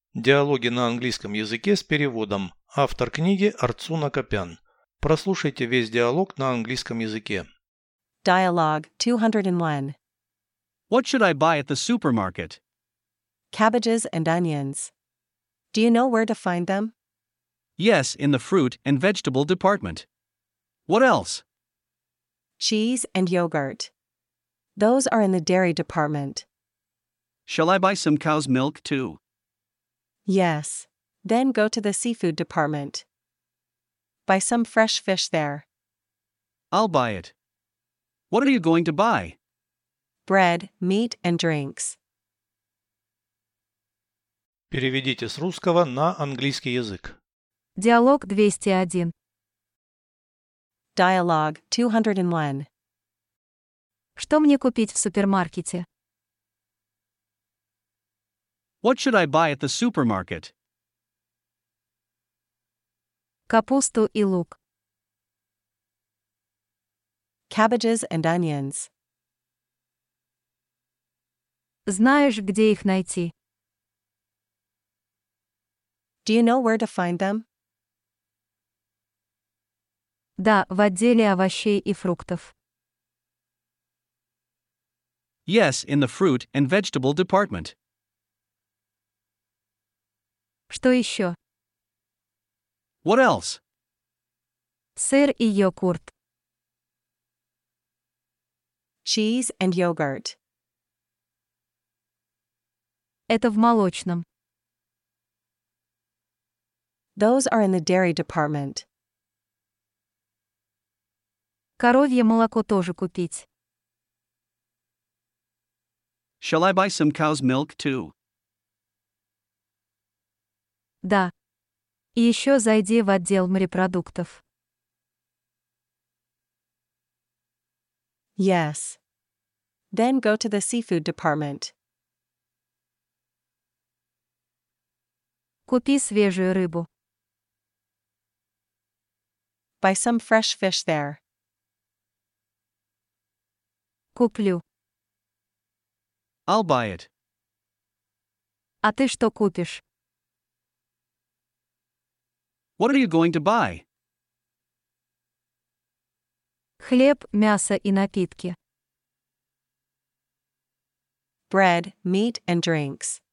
Диалоги на английском языке с переводом. Автор книги Арцуна Копян. Прослушайте весь диалог на английском языке. Dialogue 201. What should I buy at the supermarket? Cabbages and onions. Do you know where to find them? Yes, in the fruit and vegetable department. What else? Cheese and yogurt. Those are in the dairy department. Shall I buy some cow's milk too? Yes. Then go to the seafood department. Buy some fresh fish there. I'll buy it. What are you going to buy? Bread, meat, and drinks. Переведите с русского на английский язык. Диалог 201. Dialogue 201. Что мне купить в супермаркете? What should I buy at the supermarket? Капусту и лук. Cabbages and onions. Знаешь, где их найти? Do you know where to find them? Да, в отделе овощей и фруктов. Yes, in the fruit and vegetable department. Что еще? What else? Сыр и йогурт. Cheese and yogurt. Это в молочном. Those are in the dairy department. Коровье молоко тоже купить. Shall I buy some cow's milk too? Да. И еще зайди в отдел морепродуктов. Yes. Then go to the seafood department. Купи свежую рыбу. Buy some fresh fish there. Куплю. I'll buy it. А ты что купишь? What are you going to buy? Хлеб, мясо и напитки. Bread, meat, and drinks.